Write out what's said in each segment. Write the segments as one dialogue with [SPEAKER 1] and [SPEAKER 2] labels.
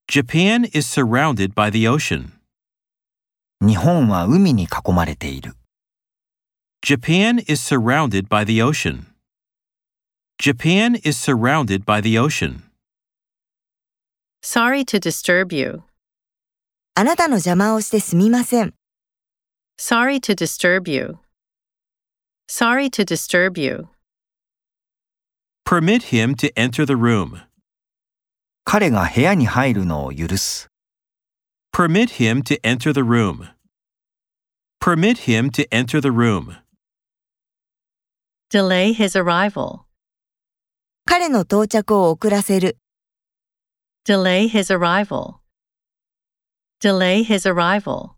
[SPEAKER 1] Japan is surrounded by the ocean.
[SPEAKER 2] 日本は海に囲まれている。
[SPEAKER 1] Japan is surrounded by the ocean. Japan is surrounded by the ocean.
[SPEAKER 3] Sorry to disturb you.
[SPEAKER 4] あなたの邪魔をしてすみません。
[SPEAKER 3] Sorry to disturb you. Sorry to disturb you.
[SPEAKER 1] Permit him to enter the room.
[SPEAKER 2] 彼が部屋に入るのを許す。
[SPEAKER 1] Permit him to enter the room. Permit him to enter the room.
[SPEAKER 3] Delay his arrival.
[SPEAKER 4] 彼の到着を遅らせる。
[SPEAKER 3] Delay his arrival. Delay his arrival.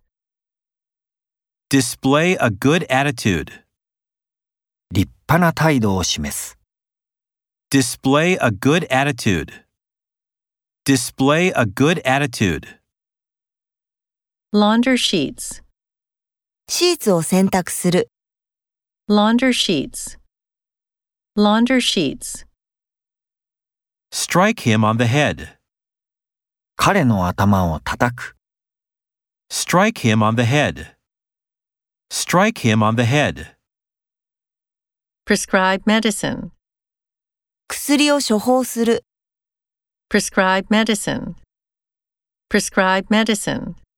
[SPEAKER 1] Display a good attitude.
[SPEAKER 2] 立派な態度を示す。
[SPEAKER 1] Display a good attitude. Display a good attitude.
[SPEAKER 3] Launder sheets.
[SPEAKER 4] シーツを洗濯する。
[SPEAKER 3] Launder sheets. Launder sheets.
[SPEAKER 1] Strike him on the head.
[SPEAKER 2] 彼の頭を叩く。
[SPEAKER 1] Strike him on the head. Strike him on the head.
[SPEAKER 3] Prescribe medicine.
[SPEAKER 4] 薬を処方する。
[SPEAKER 3] Prescribe medicine. Prescribe medicine.